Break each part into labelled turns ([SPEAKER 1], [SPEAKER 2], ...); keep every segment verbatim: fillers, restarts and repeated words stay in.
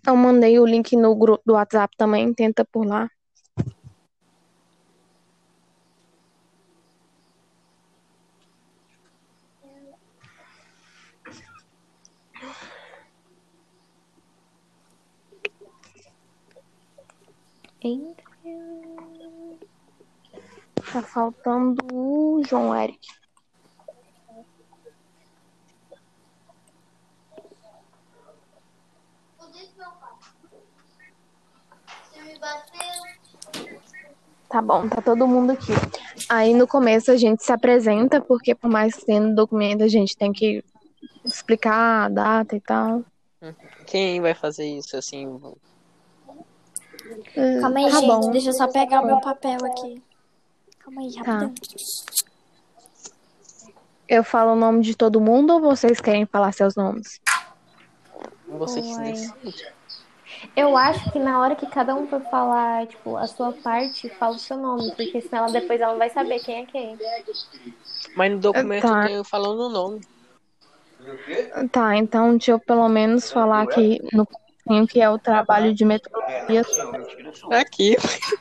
[SPEAKER 1] Eu mandei o link no grupo do WhatsApp também, tenta por lá. Tá faltando o João Eric. Tá bom, tá todo mundo aqui. Aí no começo a gente se apresenta, porque por mais que tenha no documento, a gente tem que explicar a data e tal.
[SPEAKER 2] Quem vai fazer isso assim?
[SPEAKER 3] Calma aí,
[SPEAKER 1] Tá
[SPEAKER 3] gente.
[SPEAKER 1] bom.
[SPEAKER 3] Deixa eu só pegar o meu papel aqui. Calma aí,
[SPEAKER 1] Tá.
[SPEAKER 3] rapidão.
[SPEAKER 1] Eu falo o nome de todo mundo ou vocês querem falar seus nomes?
[SPEAKER 2] Você que
[SPEAKER 3] Oi.
[SPEAKER 2] decide.
[SPEAKER 3] Eu acho que na hora que cada um for falar, tipo, a sua parte, fala o seu nome, porque senão ela, depois ela não vai saber quem é quem.
[SPEAKER 2] Mas no documento
[SPEAKER 1] Tá,
[SPEAKER 2] tem eu falando o nome.
[SPEAKER 1] tá. Então deixa eu pelo menos falar aqui no comecinho que é o trabalho de metodologia.
[SPEAKER 2] Aqui.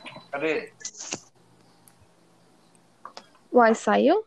[SPEAKER 1] Uai, saiu?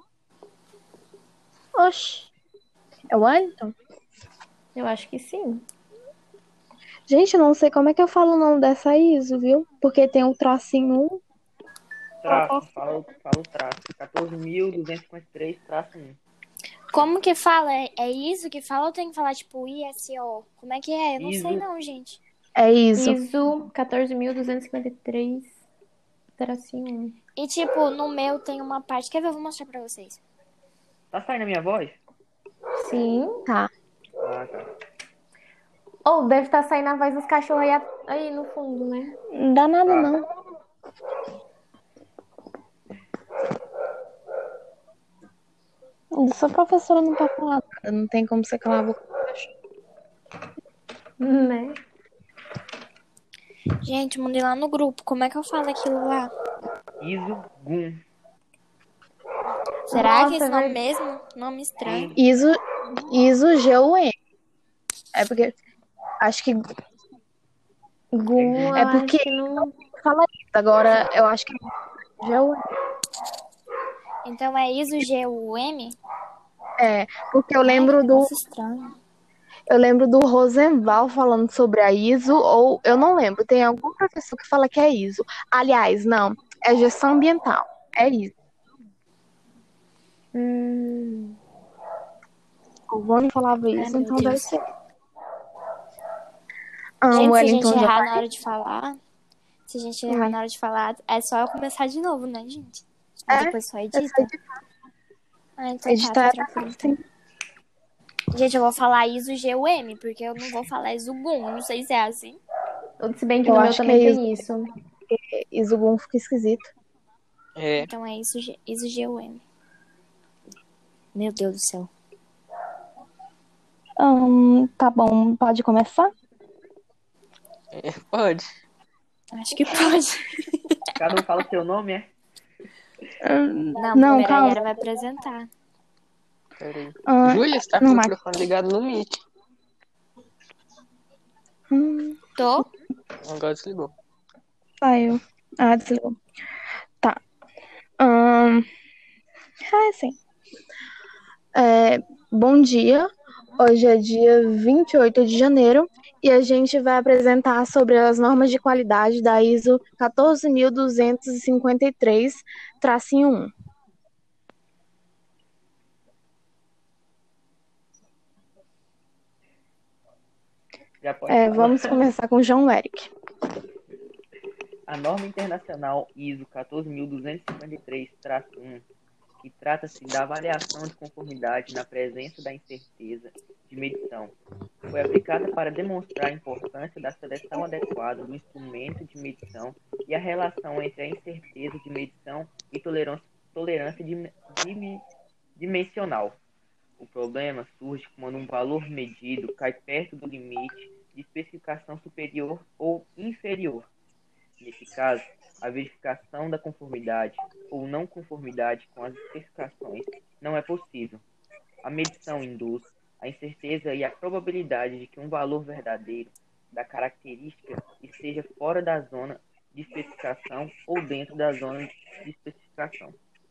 [SPEAKER 1] Oxi. É o Wellington?
[SPEAKER 3] Eu acho que sim.
[SPEAKER 1] Gente, eu não sei como é que eu falo o nome dessa I S O, viu? Porque tem o tracinho
[SPEAKER 4] Traço, fala, fala o traço. quatorze mil duzentos e cinquenta e três, traço um.
[SPEAKER 3] Como que fala? É, é isso que fala ou tem que falar, tipo, I S O? Como é que é? Eu não sei
[SPEAKER 4] ISO,
[SPEAKER 3] não, gente.
[SPEAKER 1] é I S O.
[SPEAKER 3] ISO quatorze mil duzentos e cinquenta e três, tracinho um. E, tipo, no meu tem uma parte... Quer ver? Eu vou mostrar pra vocês.
[SPEAKER 4] tá saindo a minha voz?
[SPEAKER 3] Sim.
[SPEAKER 1] Tá.
[SPEAKER 4] Ah, tá.
[SPEAKER 3] Ou deve estar saindo a voz dos cachorros aí, a- aí no fundo, né?
[SPEAKER 1] Não dá nada,
[SPEAKER 4] Tá.
[SPEAKER 1] não. Sua professora não tá falando nada. Não tem como você calar a boca.
[SPEAKER 3] Né? Gente, mandei lá no grupo. Como é que eu falo aquilo lá?
[SPEAKER 4] ISO, GUM.
[SPEAKER 3] Será
[SPEAKER 1] Nossa,
[SPEAKER 3] que esse
[SPEAKER 1] é
[SPEAKER 3] nome
[SPEAKER 1] verdade.
[SPEAKER 3] mesmo? Nome estranho.
[SPEAKER 4] Sim.
[SPEAKER 1] I S O, I S O G U M. É porque acho que
[SPEAKER 3] Gum, eu
[SPEAKER 1] é porque
[SPEAKER 3] acho que não...
[SPEAKER 1] fala isso. Agora eu acho que é G U M.
[SPEAKER 3] Então é ISO G U M?
[SPEAKER 1] É, porque eu
[SPEAKER 3] Ai, que
[SPEAKER 1] lembro do
[SPEAKER 3] negócio estranho.
[SPEAKER 1] eu lembro do Rosenval falando sobre a I S O, ou eu não lembro, tem algum professor que fala que é I S O. Aliás, não, é gestão ambiental. É I S
[SPEAKER 3] Hum...
[SPEAKER 1] O. O Vani falava
[SPEAKER 3] Ai,
[SPEAKER 1] isso,
[SPEAKER 3] meu
[SPEAKER 1] então deve
[SPEAKER 3] Deus.
[SPEAKER 1] ser. Ah, o
[SPEAKER 3] Gente, se a gente
[SPEAKER 1] Wellington já
[SPEAKER 3] errar
[SPEAKER 1] tá
[SPEAKER 3] na
[SPEAKER 1] aí.
[SPEAKER 3] hora de falar... Se a gente errar
[SPEAKER 1] Oi.
[SPEAKER 3] na hora de falar, é só eu começar de novo, né, gente? E
[SPEAKER 1] É,
[SPEAKER 3] depois só
[SPEAKER 1] é só
[SPEAKER 3] edita?
[SPEAKER 1] editar.
[SPEAKER 3] Ah, então tá, tá
[SPEAKER 1] Editar é
[SPEAKER 3] tranquilo, então.
[SPEAKER 1] assim.
[SPEAKER 3] Gente, eu vou falar ISO G U M, porque eu não vou falar ISO GUM. Não sei se é assim.
[SPEAKER 5] Se bem que
[SPEAKER 1] Eu
[SPEAKER 5] no meu
[SPEAKER 1] acho que é
[SPEAKER 5] também
[SPEAKER 1] I S O,
[SPEAKER 5] tem isso.
[SPEAKER 1] porque I S O Gum fica esquisito.
[SPEAKER 2] É.
[SPEAKER 3] Então é ISO, G- ISO G U M. Meu Deus do céu.
[SPEAKER 1] Hum, tá bom, pode começar?
[SPEAKER 2] É, pode.
[SPEAKER 3] Acho que pode.
[SPEAKER 4] Cada um fala o seu nome, é?
[SPEAKER 1] Hum,
[SPEAKER 3] Não,
[SPEAKER 1] não,
[SPEAKER 3] primeiro a
[SPEAKER 1] calma.
[SPEAKER 3] Yara vai apresentar.
[SPEAKER 2] Peraí.
[SPEAKER 1] Ah,
[SPEAKER 2] Júlia, você tá com
[SPEAKER 1] não,
[SPEAKER 2] o
[SPEAKER 1] mas...
[SPEAKER 2] microfone ligado no Meet.
[SPEAKER 1] Hum,
[SPEAKER 3] Tô?
[SPEAKER 2] Agora desligou.
[SPEAKER 1] saiu. Ah, desligou. Tá. Hum, ah, sim. É, bom dia. Hoje é dia vinte e oito de janeiro e a gente vai apresentar sobre as normas de qualidade da I S O quatorze mil duzentos e cinquenta e três, tracinho um.
[SPEAKER 4] Já pode
[SPEAKER 1] É,
[SPEAKER 4] falar.
[SPEAKER 1] vamos começar com o João Eric.
[SPEAKER 4] A norma internacional ISO quatorze mil duzentos e cinquenta e três traço um, que trata-se da avaliação de conformidade na presença da incerteza de medição, foi aplicada para demonstrar a importância da seleção adequada do instrumento de medição e a relação entre a incerteza de medição e tolerância, tolerância dim- dim- dimensional. O problema surge quando um valor medido cai perto do limite de especificação superior ou inferior. Nesse caso, a verificação da conformidade ou não conformidade com as especificações não é possível. A medição induz a incerteza e a probabilidade de que um valor verdadeiro da característica esteja fora da zona de especificação ou dentro da zona de especificação.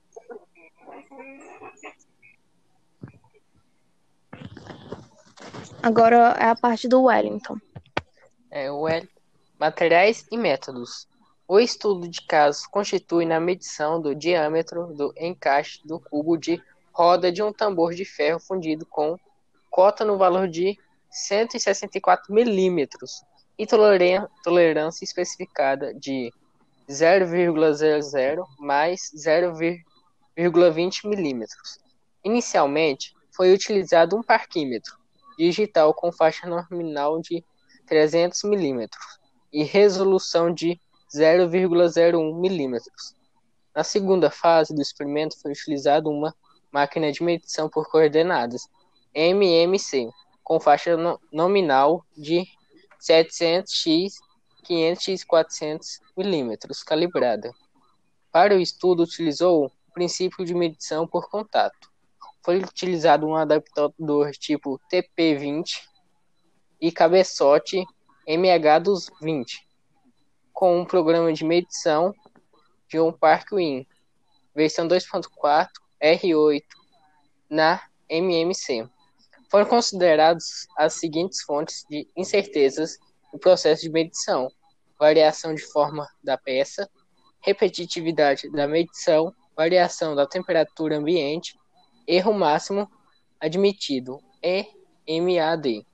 [SPEAKER 1] Agora é a parte do Wellington.
[SPEAKER 2] É o L. Materiais e métodos. O estudo de casos constitui na medição do diâmetro do encaixe do cubo de roda de um tambor de ferro fundido com cota no valor de cento e sessenta e quatro milímetros e tolerância especificada de zero vírgula zero zero mais zero vírgula vinte milímetros. Inicialmente, foi utilizado um parquímetro digital com faixa nominal de trezentos milímetros e resolução de zero vírgula zero um milímetros. Na segunda fase do experimento foi utilizada uma máquina de medição por coordenadas, M M C, com faixa no- nominal de setecentos por quinhentos por quatrocentos milímetros, calibrada. Para o estudo, utilizou o princípio de medição por contato. Foi utilizado um adaptador tipo T P vinte e cabeçote M H vinte, com um programa de medição de um Parkwin, versão dois ponto quatro R oito na M M C. Foram consideradas as seguintes fontes de incertezas no processo de medição: variação de forma da peça, repetitividade da medição, variação da temperatura ambiente, erro máximo admitido, E M A D.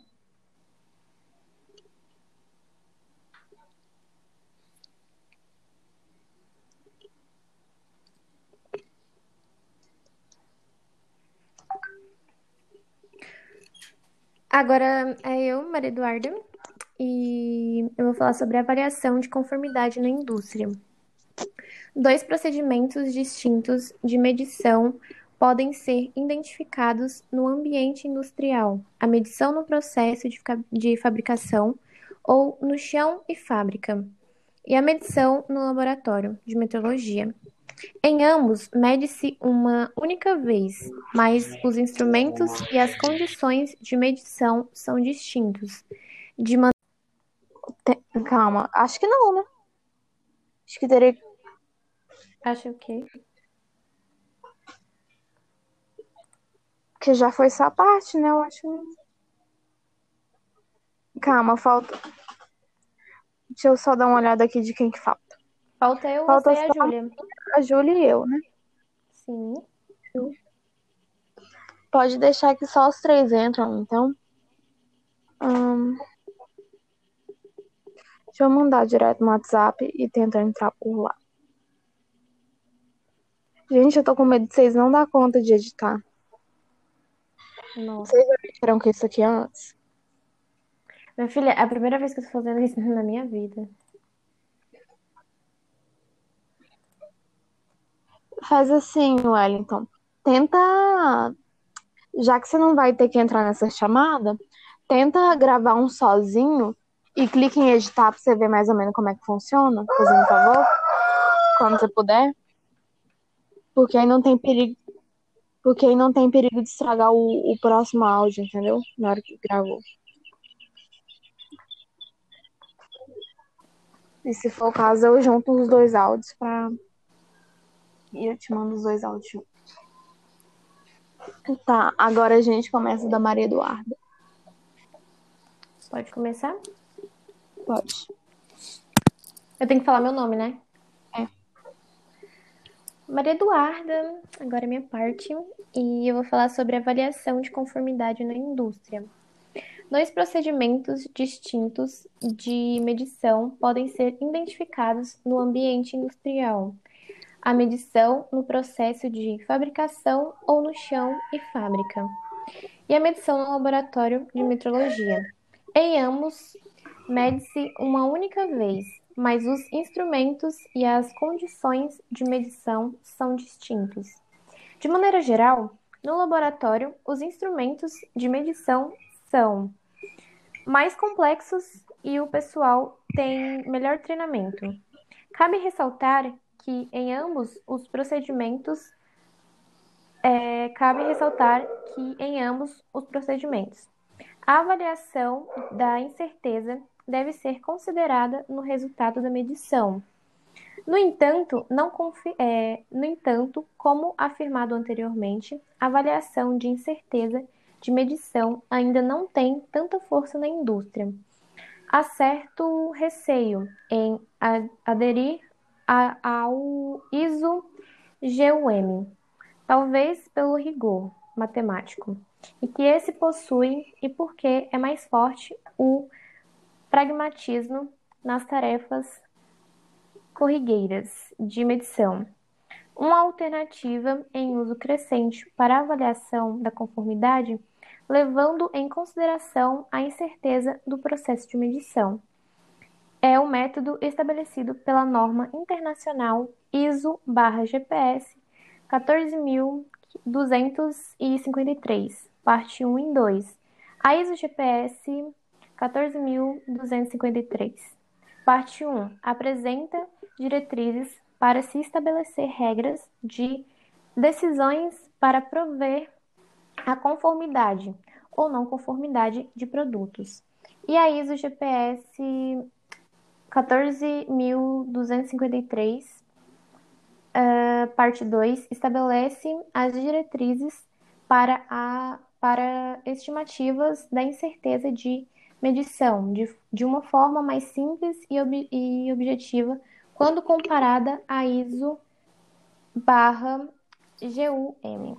[SPEAKER 3] Agora é eu, Maria Eduarda, e eu vou falar sobre a avaliação de conformidade na indústria. Dois procedimentos distintos de medição podem ser identificados no ambiente industrial: a medição no processo de, fa- de fabricação ou no chão e fábrica, e a medição no laboratório de metrologia. Em ambos, mede-se uma única vez, mas os instrumentos e as condições de medição são distintos. De man-
[SPEAKER 1] Te- Calma, acho que não, né? Acho que teria.
[SPEAKER 3] Acho o quê?
[SPEAKER 1] Que já foi essa parte, né? Eu acho. Calma, falta. Deixa eu só dar uma olhada aqui de quem que falta.
[SPEAKER 3] Falta eu,
[SPEAKER 1] Falta
[SPEAKER 3] você e a
[SPEAKER 1] só
[SPEAKER 3] Júlia.
[SPEAKER 1] a Júlia e eu, né?
[SPEAKER 3] Sim.
[SPEAKER 1] Pode deixar que só os três entram, então. Hum, Deixa eu mandar direto no WhatsApp e tentar entrar por lá. Gente, eu tô com medo de vocês não dar conta de editar.
[SPEAKER 3] Nossa.
[SPEAKER 1] Vocês já viram que isso aqui antes?
[SPEAKER 3] Minha filha, é a primeira vez que eu tô fazendo isso na minha vida.
[SPEAKER 1] Faz assim, Wellington. Tenta. Já que você não vai ter que entrar nessa chamada, tenta gravar um sozinho e clica em editar pra você ver mais ou menos como é que funciona. Fazendo um favor. Quando você puder. Porque aí não tem perigo. Porque aí não tem perigo de estragar o, o próximo áudio, entendeu? Na hora que gravou. E se for o caso, eu junto os dois áudios pra. E eu te mando os dois áudios juntos. Tá, agora a gente começa da Maria Eduarda.
[SPEAKER 3] Pode começar?
[SPEAKER 1] Pode.
[SPEAKER 3] Eu tenho que falar meu nome, né?
[SPEAKER 1] É.
[SPEAKER 3] Maria Eduarda, agora é minha parte, e eu vou falar sobre avaliação de conformidade na indústria. Dois procedimentos distintos de medição podem ser identificados no ambiente industrial: a medição no processo de fabricação ou no chão e fábrica, e a medição no laboratório de metrologia. Em ambos, mede-se uma única vez, mas os instrumentos e as condições de medição são distintos. De maneira geral, no laboratório, os instrumentos de medição são mais complexos e o pessoal tem melhor treinamento. Cabe ressaltar que em ambos os procedimentos é, cabe ressaltar que em ambos os procedimentos A avaliação da incerteza deve ser considerada no resultado da medição. No entanto, não confi- é, no entanto, como afirmado anteriormente, a avaliação de incerteza de medição ainda não tem tanta força na indústria. Há certo receio em a- aderir a- ao I S O G U M, talvez pelo rigor matemático, e que esse possui e porque é mais forte o pragmatismo nas tarefas corriqueiras de medição. Uma alternativa em uso crescente para a avaliação da conformidade, levando em consideração a incerteza do processo de medição, é o método estabelecido pela norma internacional I S O/G P S quatorze mil duzentos e cinquenta e três, parte um e dois. A I S O-G P S quatorze mil duzentos e cinquenta e três, parte um, apresenta diretrizes para se estabelecer regras de decisões para prover a conformidade ou não conformidade de produtos. E a I S O-G P S quatorze mil duzentos e cinquenta e três, uh, parte dois, estabelece as diretrizes para, a, para estimativas da incerteza de medição de, de uma forma mais simples e, ob, e objetiva quando comparada à I S O barra G U M.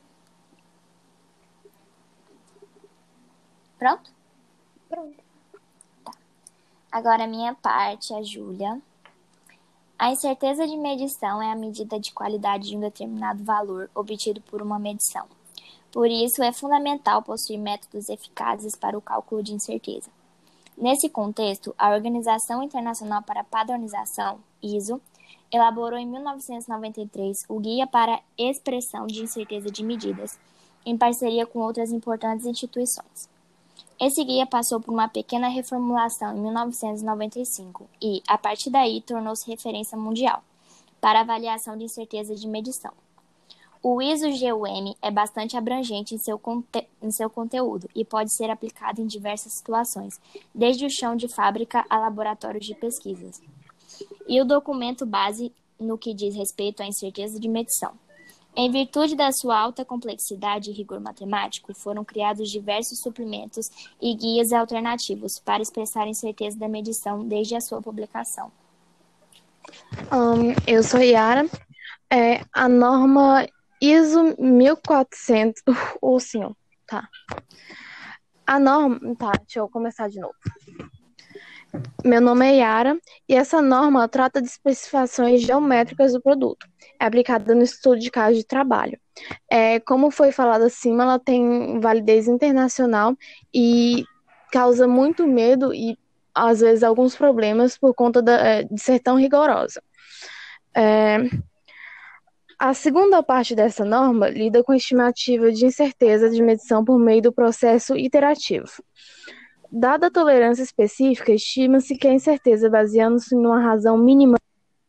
[SPEAKER 5] Pronto?
[SPEAKER 3] Pronto.
[SPEAKER 5] Agora a minha parte, a Júlia. A incerteza de medição é a medida de qualidade de um determinado valor obtido por uma medição. Por isso, é fundamental possuir métodos eficazes para o cálculo de incerteza. Nesse contexto, a Organização Internacional para a Padronização, I S O, elaborou em mil novecentos e noventa e três o Guia para Expressão de Incerteza de Medidas, em parceria com outras importantes instituições. Esse guia passou por uma pequena reformulação em mil novecentos e noventa e cinco e, a partir daí, tornou-se referência mundial para avaliação de incerteza de medição. O I S O-G U M é bastante abrangente em seu, conte- em seu conteúdo e pode ser aplicado em diversas situações, desde o chão de fábrica a laboratórios de pesquisas. E o documento base no que diz respeito à incerteza de medição. Em virtude da sua alta complexidade e rigor matemático, foram criados diversos suplementos e guias alternativos para expressar a incerteza da medição desde a sua publicação.
[SPEAKER 1] Um, eu sou Yara. É, a norma I S O mil e quatrocentos, ou sim, ó, tá. A norma, tá, deixa eu começar de novo. Meu nome é Yara e essa norma trata de especificações geométricas do produto. É aplicada no estudo de caso de trabalho. É, como foi falado acima, ela tem validez internacional e causa muito medo e, às vezes, alguns problemas por conta da, de ser tão rigorosa. É, a segunda parte dessa norma lida com a estimativa de incerteza de medição por meio do processo iterativo. Dada a tolerância específica, estima-se que a incerteza, baseando-se numa razão mínima.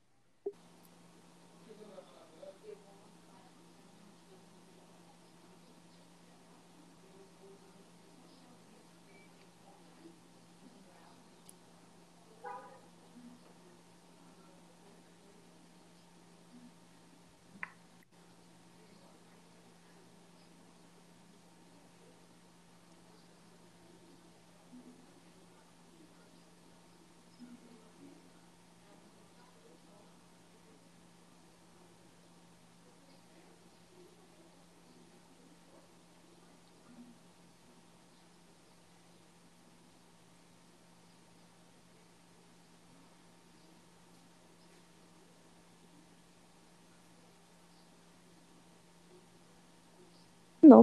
[SPEAKER 1] Não.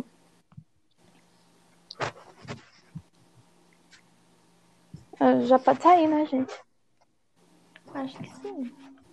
[SPEAKER 1] Já pode sair, né, gente?
[SPEAKER 3] Acho que sim.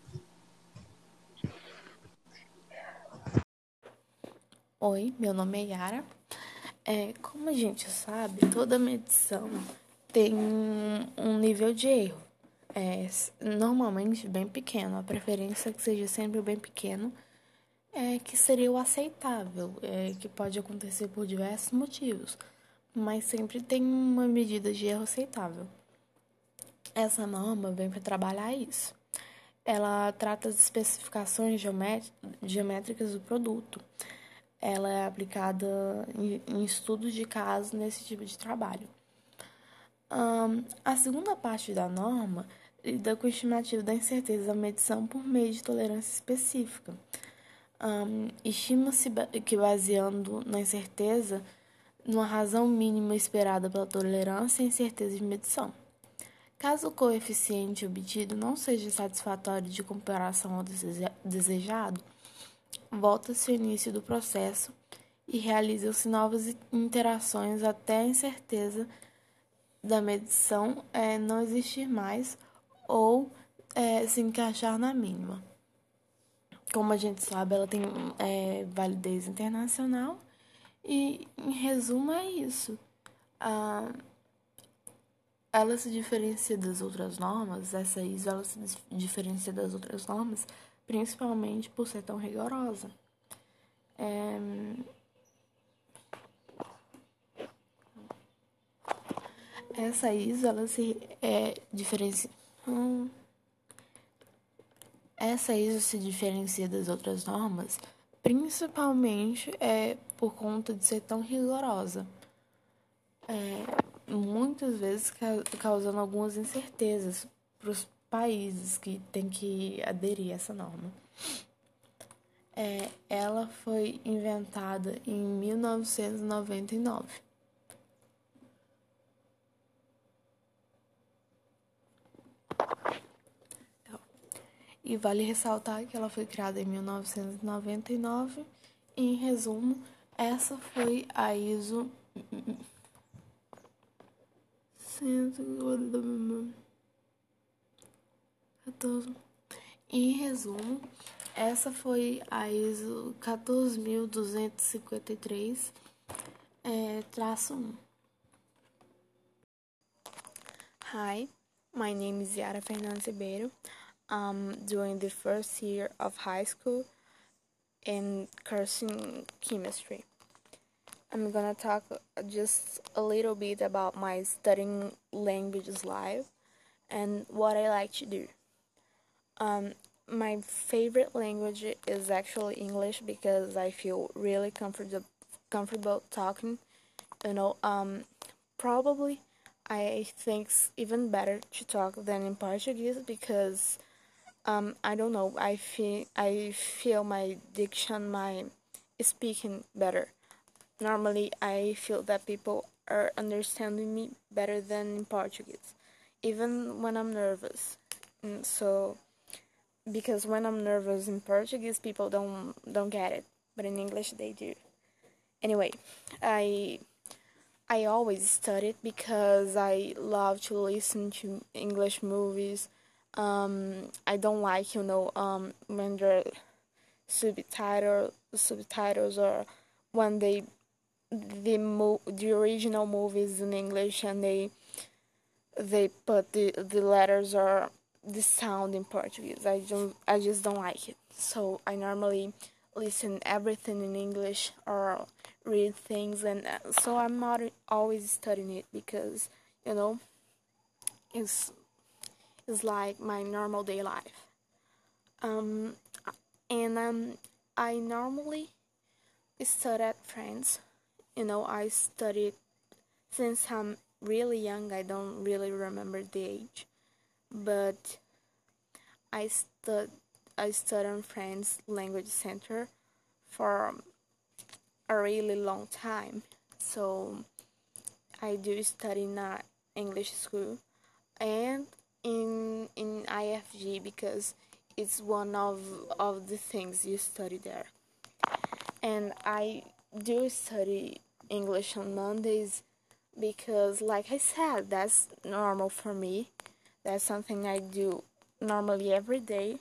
[SPEAKER 6] Oi, meu nome é Yara. É, como a gente sabe, toda medição tem um nível de erro. É, normalmente bem pequeno. A preferência é que seja sempre bem pequeno, é, que seria o aceitável, é, que pode acontecer por diversos motivos. mas sempre tem uma medida de erro aceitável. Essa norma vem para trabalhar isso. Ela trata as especificações geométricas do produto. Ela é aplicada em estudos de caso nesse tipo de trabalho. Um, a segunda parte da norma lida com o estimativo da incerteza da medição por meio de tolerância específica. Um, estima-se que, baseando na incerteza, numa razão mínima esperada pela tolerância e incerteza de medição. Caso o coeficiente obtido não seja satisfatório de comparação ao desejado, volta-se ao início do processo e realizam-se novas interações até a incerteza da medição é, não existir mais ou é, se encaixar na mínima. Como a gente sabe, ela tem é, validez internacional e, em resumo, é isso. Ah, ela se diferencia das outras normas, essa I S O ela se diferencia das outras normas, principalmente por ser tão rigorosa. É... Essa I S O ela se é, diferencia. Hum... Essa I S O se diferencia das outras normas, principalmente é por conta de ser tão rigorosa. É, muitas vezes causando algumas incertezas para os países que têm que aderir a essa norma. É, ela foi inventada em mil novecentos e noventa e nove. E vale ressaltar que ela foi criada em mil novecentos e noventa e nove. E, em resumo, essa foi a I S O Em resumo, essa foi a I S O quatorze mil duzentos e cinquenta e três, é, traço um. Hi, my name is Yara Fernandes Ribeiro. I'm doing the first year of high school and cursing chemistry. I'm gonna talk just a little bit about my studying languages life and what I like to do. Um, my favorite language is actually English because I feel really comfortable comfortable talking. You know, um, probably I think it's even better to talk than in Portuguese because um, I don't know. I feel I feel my diction, my speaking better. Normally, I feel that people are understanding me better than in Portuguese, even when I'm nervous. And so, because when I'm nervous in Portuguese, people don't don't get it, but in English they do. Anyway, I I always studied because I love to listen to English movies. Um, I don't like, you know, um, when there are subtitle subtitles or when they the mo- the original movies in English and they they put the, the letters or the sound in Portuguese. I don't I just don't like it. So I normally listen everything in English or read things, and so I'm not always studying it because, you know, it's it's like my normal day life. Um, and um, I normally study at France. You know, I studied since I'm really young. I don't really remember the age, but I stud I studied in French language center for a really long time. So I do study in a English school and in in I F G because it's one of of the things you study there. And I do study English on Mondays because, like I said, that's normal for me. That's something I do normally every day.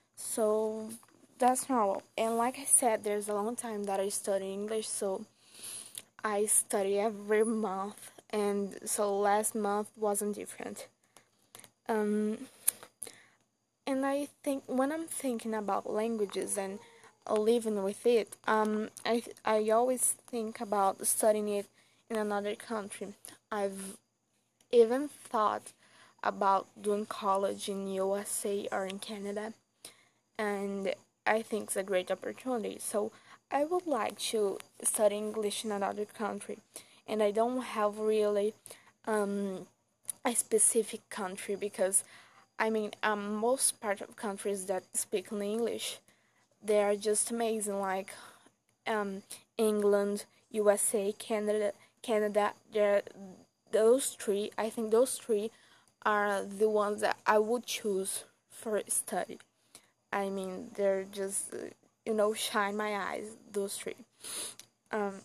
[SPEAKER 6] So that's normal. And like I said, there's a long time that I study English, so I study every month. And so last month wasn't different. Um, and I think when I'm thinking about languages and living with it, um, I I always think about studying it in another country. I've even thought about doing college in U S A or in Canada, and I think it's a great opportunity. So I would like to study English in another country, and I don't have really um, a specific country because I mean um, most part of countries that speak in English, they are just amazing, like um, England, U S A, Canada, Canada. They're, those three, I think those three are the ones that I would choose for study. I mean, they're just, uh, you know, shine my eyes, those three. Um,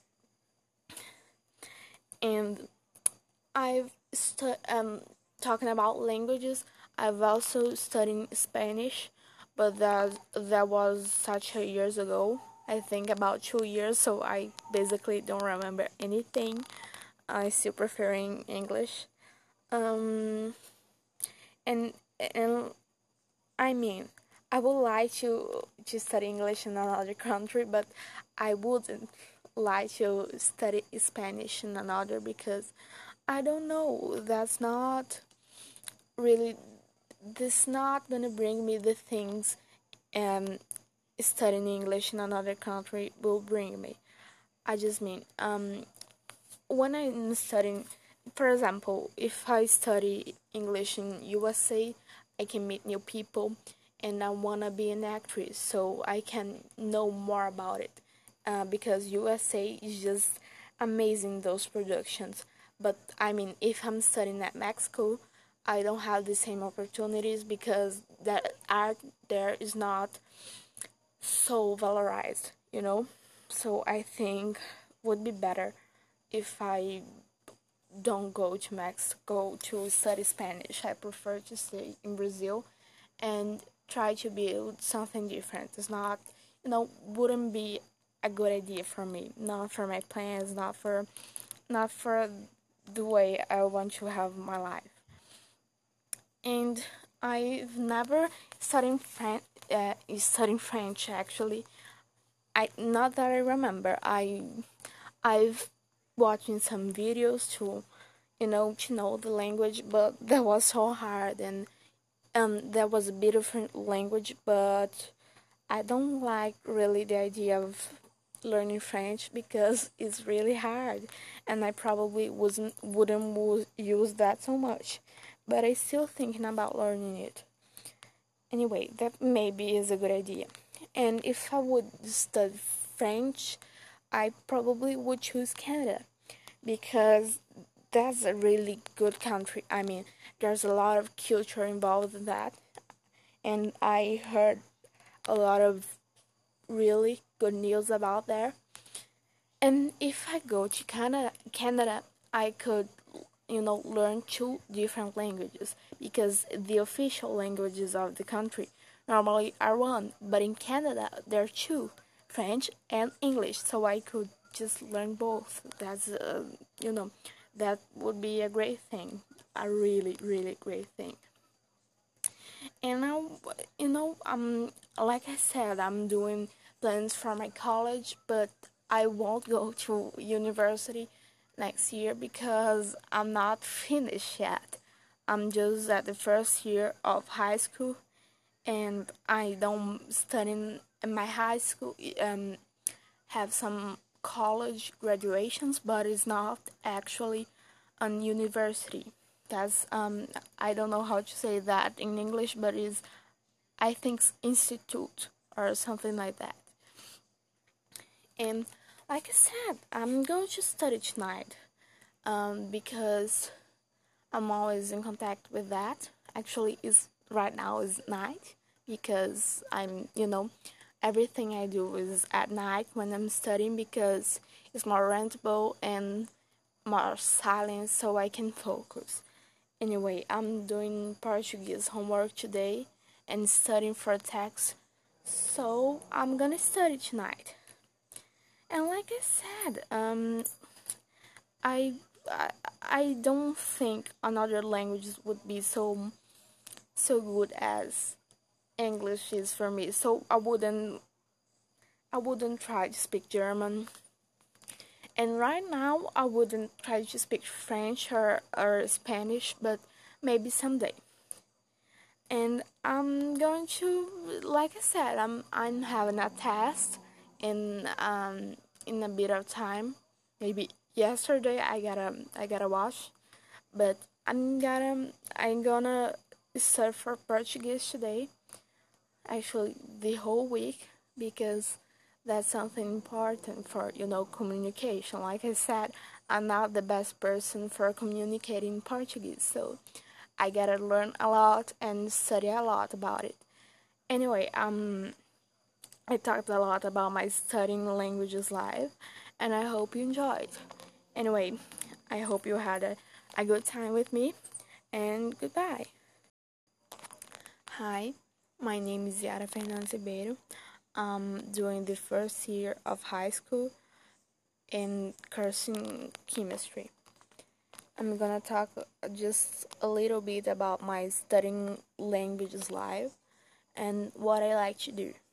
[SPEAKER 6] and I've stu- um talking about languages. I've also studied Spanish, but that that was such a years ago. I think about two years, so I basically don't remember anything. I still preferring English. Um, and and I mean, I would like to to study English in another country, but I wouldn't like to study Spanish in another because I don't know. That's not really. This not gonna bring me the things um studying English in another country will bring me. I just mean um when I'm studying, for example, if I study English in U S A, I can meet new people, and I wanna be an actress, so I can know more about it. Uh, because U S A is just amazing those productions. But I mean, if I'm studying at Mexico, I don't have the same opportunities because that art there is not so valorized, you know. So I think would be better if I don't go to Mexico to study Spanish. I prefer to stay in Brazil and try to build something different. It's not, you know, wouldn't be a good idea for me. Not for my plans, not for, not for the way I want to have my life. And I've never studied French. Uh, studying French actually. I not that I remember. I I've watching some videos to, you know, to know the language, but that was so hard, and um, that was a bit different language, but I don't like really the idea of learning French because it's really hard, and I probably wasn't wouldn't wo- use that so much, but I still thinking about learning it. Anyway, that maybe is a good idea. And if I would study French, I probably would choose Canada because that's a really good country. I mean, there's a lot of culture involved in that, and I heard a lot of really good news about there. And if I go to Canada, Canada, I could, you know, learn two different languages because the official languages of the country normally are one, but in Canada there are two, French and English. So I could just learn both. That's, uh, you know, that would be a great thing, a really, really great thing. And now, you know, um, like I said, I'm doing plans for my college, but I won't go to university next year because I'm not finished yet. I'm just at the first year of high school, and I don't study in my high school. Um, have some college graduations, but it's not actually an university. That's um I don't know how to say that in English, but it's I think institute or something like that. And like I said, I'm going to study tonight um, because I'm always in contact with that. Actually, is right now is night because I'm, you know, everything I do is at night when I'm studying because it's more rentable and more silent so I can focus. Anyway, I'm doing Portuguese homework today and studying for text, so I'm gonna study tonight. And like I said, um, I, I I don't think another language would be so so good as English is for me. So I wouldn't I wouldn't try to speak German. And right now, I wouldn't try to speak French or, or Spanish, but maybe someday. And I'm going to, like I said, I'm I'm having a test in um in a bit of time. Maybe yesterday I gotta I gotta watch, but I'm gonna I'm gonna start for Portuguese today. Actually, the whole week because that's something important for you know communication. Like I said, I'm not the best person for communicating Portuguese, so I gotta learn a lot and study a lot about it. Anyway, um, I talked a lot about my studying languages live, and I hope you enjoyed. Anyway, I hope you had a, a good time with me, and goodbye. Hi, my name is Yara Fernandes Ribeiro. I'm doing the first year of high school in cursing chemistry. I'm gonna talk just a little bit about my studying languages live and what I like to do.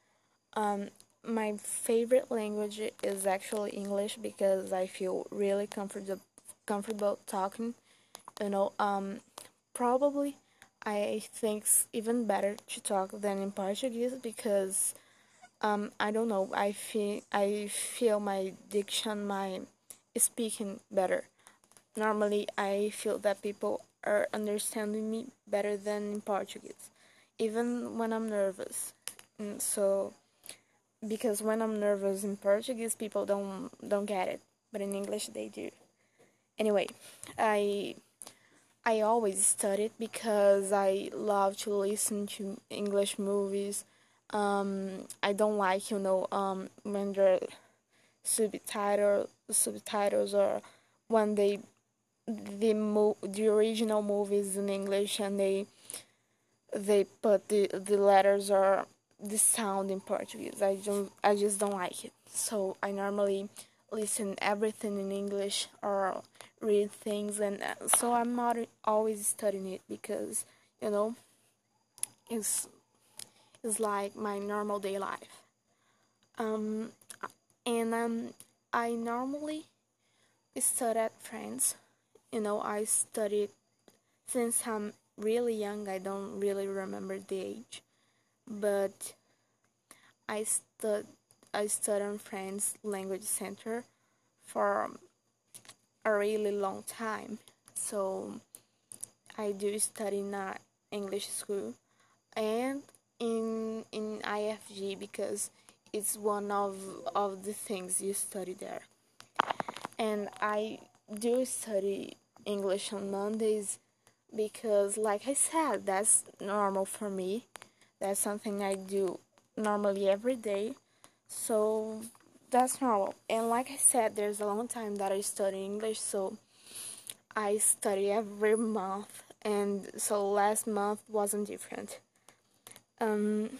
[SPEAKER 6] Um, my favorite language is actually English because I feel really comfortable comfortable talking. You know, um, probably I think it's even better to talk than in Portuguese because um, I don't know. I feel I feel my diction, my speaking better. Normally, I feel that people are understanding me better than in Portuguese, even when I'm nervous. And so, because when I'm nervous in Portuguese, people don't don't get it, but in English they do. Anyway, I I always studied because I love to listen to English movies. Um, I don't like you know um when there are subtitle subtitles or when they the mo- the original movies in English and they they put the the letters or the sound in Portuguese. I don't I just don't like it. So I normally listen everything in English or read things, and uh, so I'm not always studying it because you know it's it's like my normal day life. Um, and um, I normally study at France. You know, I studied since I'm really young. I don't really remember the age, but I stud I studied in France Language Center for a really long time. So I do study in a English school and in in I F G because it's one of of the things you study there. And I do study English on Mondays because, like I said, that's normal for me. That's something I do normally every day. So that's normal. And like I said, there's a long time that I study English, so I study every month. And so last month wasn't different. Um,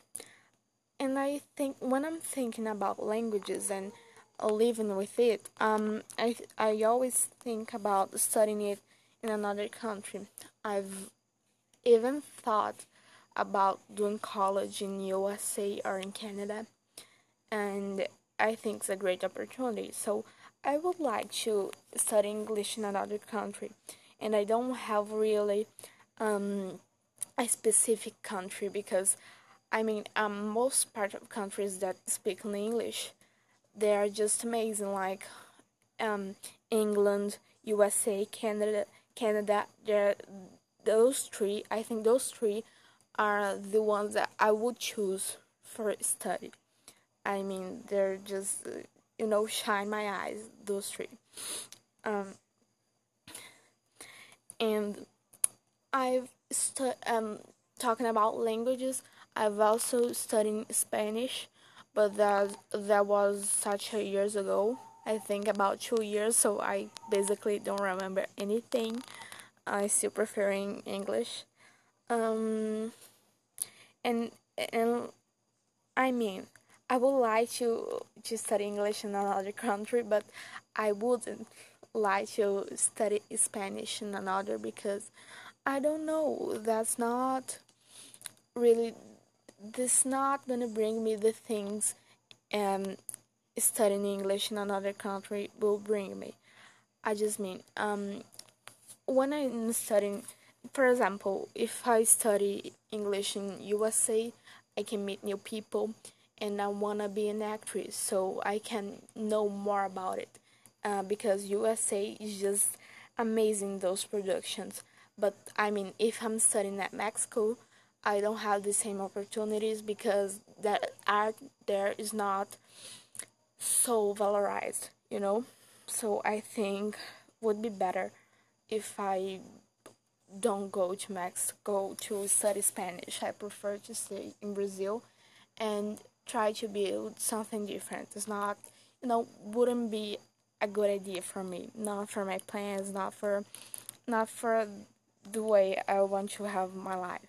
[SPEAKER 6] and I think when I'm thinking about languages and living with it, um, I I always think about studying it in another country. I've even thought about doing college in U S A or in Canada, and I think it's a great opportunity. So I would like to study English in another country, and I don't have really um, a specific country because I mean um, most part of countries that speak in English, they are just amazing, like um, England, U S A, Canada, Canada. They're those three. I think those three are the ones that I would choose for study. I mean, they're just uh, you know shine my eyes. Those three. Um, and I've stu- um talking about languages. I've also studied Spanish, but that that was such a years ago. I think about two years, so I basically don't remember anything. I still preferring English. Um, and and I mean, I would like to to study English in another country, but I wouldn't like to study Spanish in another because I don't know. That's not really. This not gonna bring me the things um studying English in another country will bring me. I just mean, um, when I'm studying, for example, if I study English in U S A, I can meet new people, and I wanna be an actress, so I can know more about it, uh, because U S A is just amazing those productions. But I mean, if I'm studying at Mexico, I don't have the same opportunities because that art there is not so valorized, you know. So I think would be better if I don't go to Mexico to study Spanish. I prefer to stay in Brazil and try to build something different. It's not, you know, wouldn't be a good idea for me, not for my plans, not for, not for the way I want to have my life.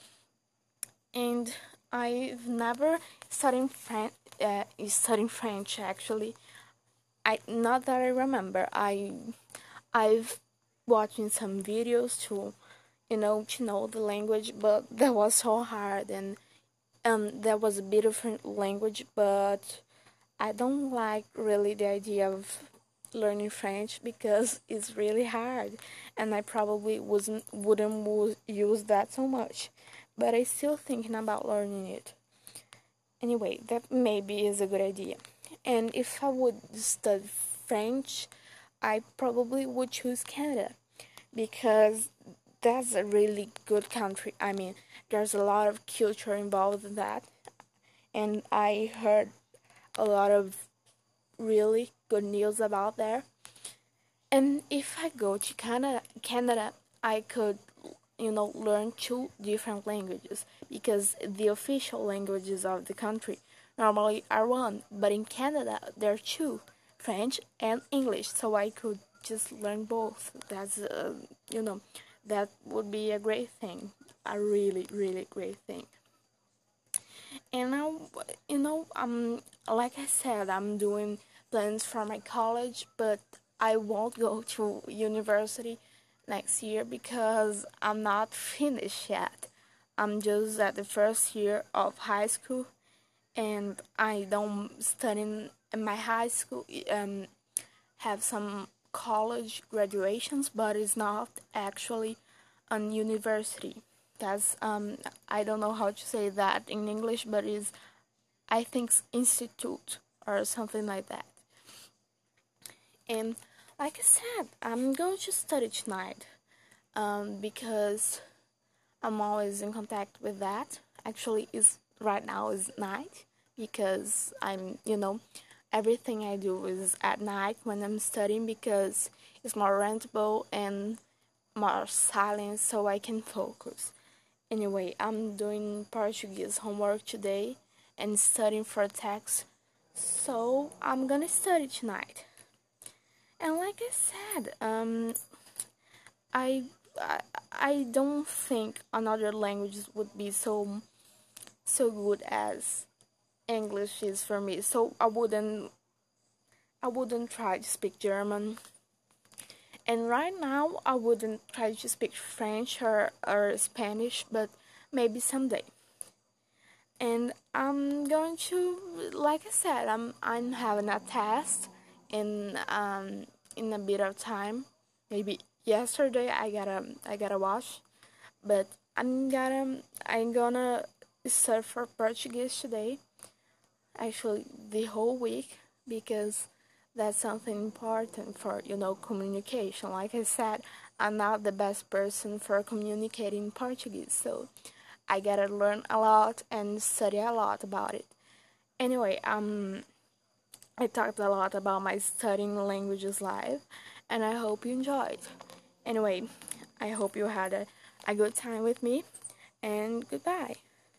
[SPEAKER 6] And I've never studied French. Uh, studying French actually. I not that I remember. I I've watching some videos to, you know, to know the language, but that was so hard, and um, that was a bit different language, but I don't like really the idea of learning French because it's really hard, and I probably wasn't wouldn't wo- use that so much, but I still thinking about learning it. Anyway, that maybe is a good idea. And if I would study French, I probably would choose Canada because that's a really good country. I mean, there's a lot of culture involved in that, and I heard a lot of really good news about there. And if I go to Canada, Canada, I could, you know, learn two different languages because the official languages of the country normally are one, but in Canada there are two, French and English. So I could just learn both. That's, uh, you know, that would be a great thing, a really, really great thing. And now, you know, um, like I said, I'm doing plans for my college, but I won't go to university next year because I'm not finished yet. I'm just at the first year of high school, and I don't study in my high school. Um, have some college graduations, but it's not actually an university. That's um I don't know how to say that in English, but it's I think institute or something like that. And like I said, I'm going to study tonight um, because I'm always in contact with that. Actually, is right now is night because I'm, you know, everything I do is at night when I'm studying because it's more rentable and more silent so I can focus. Anyway, I'm doing Portuguese homework today and studying for text, so I'm gonna study tonight. And like I said, um, I, I I don't think another languages would be so so good as English is for me. So I wouldn't I wouldn't try to speak German. And right now I wouldn't try to speak French or, or Spanish, but maybe someday. And I'm going to, like I said, I'm I'm having a test in um in a bit of time. Maybe yesterday I gotta I gotta watch, but I'm gonna I'm gonna start for Portuguese today. Actually, the whole week because that's something important for you know communication. Like I said, I'm not the best person for communicating Portuguese, so I gotta learn a lot and study a lot about it. Anyway, um, I talked a lot about my studying languages live, and I hope you enjoyed. Anyway, I hope you had a, a good time with me, and goodbye.